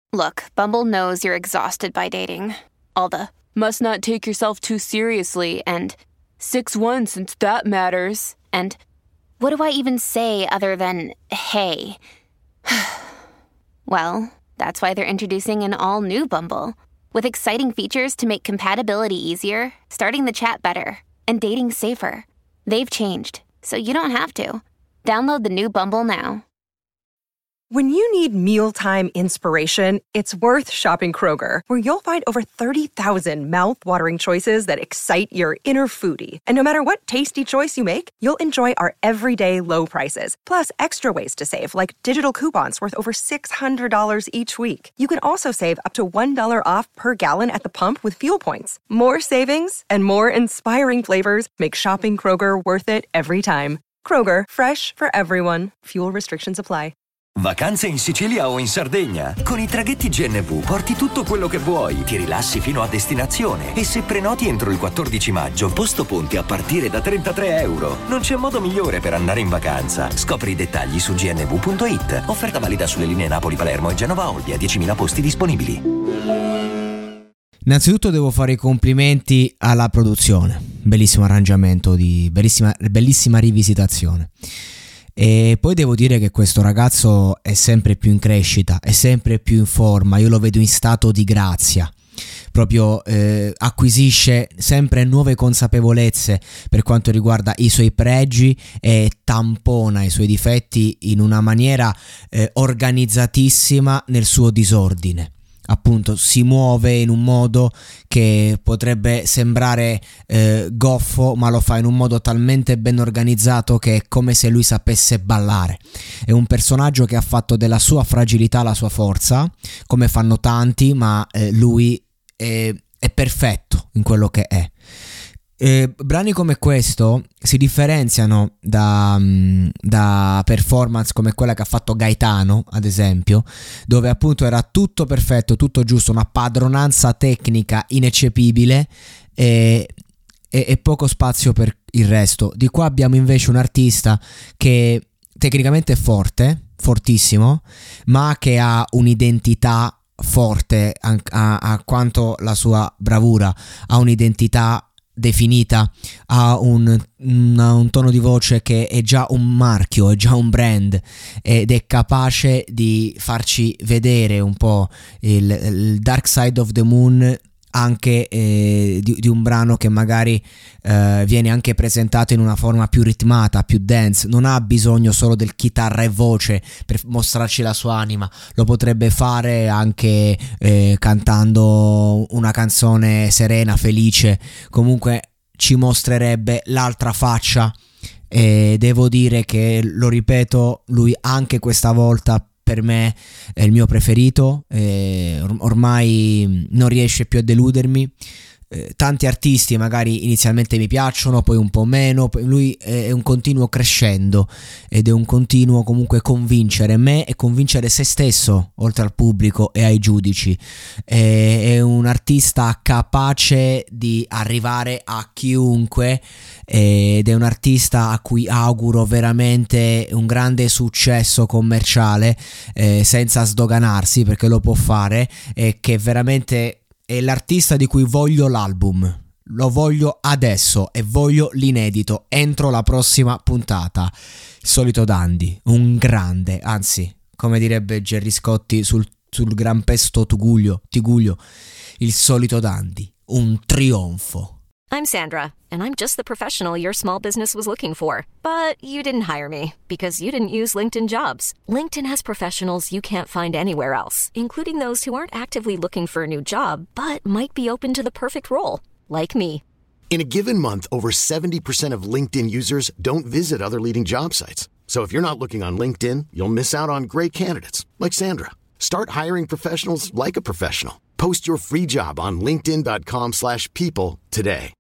Look, Bumble knows you're exhausted by dating. All the must not take yourself too seriously and 6'1" since that matters. And what do I even say other than hey? Well, that's why they're introducing an all-new Bumble with exciting features to make compatibility easier, starting the chat better, and dating safer. They've changed, so you don't have to. Download the new Bumble now. When you need mealtime inspiration, it's worth shopping Kroger, where you'll find over 30,000 mouth-watering choices that excite your inner foodie. And no matter what tasty choice you make, you'll enjoy our everyday low prices, plus extra ways to save, like digital coupons worth over $600 each week. You can also save up to $1 off per gallon at the pump with fuel points. More savings and more inspiring flavors make shopping Kroger worth it every time. Kroger, fresh for everyone. Fuel restrictions apply. Vacanze in Sicilia o in Sardegna? Con i traghetti GNV porti tutto quello che vuoi, ti rilassi fino a destinazione e se prenoti entro il 14 maggio, posto ponti a partire da €33. Non c'è modo migliore per andare in vacanza. Scopri i dettagli su gnv.it. Offerta valida sulle linee Napoli-Palermo e Genova-Olbia, 10.000 posti disponibili. Innanzitutto devo fare i complimenti alla produzione. Bellissimo arrangiamento, bellissima rivisitazione. E poi devo dire che questo ragazzo è sempre più in crescita, è sempre più in forma, io lo vedo in stato di grazia, proprio acquisisce sempre nuove consapevolezze per quanto riguarda i suoi pregi e tampona i suoi difetti in una maniera organizzatissima nel suo disordine. Appunto si muove in un modo che potrebbe sembrare goffo, ma lo fa in un modo talmente ben organizzato che è come se lui sapesse ballare. È un personaggio che ha fatto della sua fragilità la sua forza, come fanno tanti, ma lui è perfetto in quello che è. Brani come questo si differenziano da performance come quella che ha fatto Gaetano, ad esempio, dove appunto era tutto perfetto, tutto giusto, una padronanza tecnica ineccepibile e poco spazio per il resto. Di qua abbiamo invece un artista che tecnicamente è forte, fortissimo, ma che ha un'identità forte a quanto la sua bravura, ha un'identità definita, ha un tono di voce che è già un marchio, è già un brand ed è capace di farci vedere un po' il Dark Side of the Moon anche di un brano che magari viene anche presentato in una forma più ritmata, più dance. Non ha bisogno solo del chitarra e voce per mostrarci la sua anima, lo potrebbe fare anche cantando una canzone serena, felice. Comunque ci mostrerebbe l'altra faccia e devo dire che, lo ripeto, lui anche questa volta per me è il mio preferito, ormai non riesce più a deludermi. Tanti artisti magari inizialmente mi piacciono, poi un po' meno, poi lui è un continuo crescendo ed è un continuo comunque convincere me e convincere se stesso, oltre al pubblico e ai giudici. È un artista capace di arrivare a chiunque ed è un artista a cui auguro veramente un grande successo commerciale, senza sdoganarsi, perché lo può fare, e che veramente è l'artista di cui voglio l'album. Lo voglio adesso e voglio l'inedito entro la prossima puntata. Il solito Dandy, un grande, anzi, come direbbe Gerry Scotti sul Gran Pesto Tiguglio, il solito Dandy, un trionfo. I'm Sandra, and I'm just the professional your small business was looking for. But you didn't hire me because you didn't use LinkedIn Jobs. LinkedIn has professionals you can't find anywhere else, including those who aren't actively looking for a new job, but might be open to the perfect role, like me. In a given month, over 70% of LinkedIn users don't visit other leading job sites. So if you're not looking on LinkedIn, you'll miss out on great candidates, like Sandra. Start hiring professionals like a professional. Post your free job on linkedin.com/people today.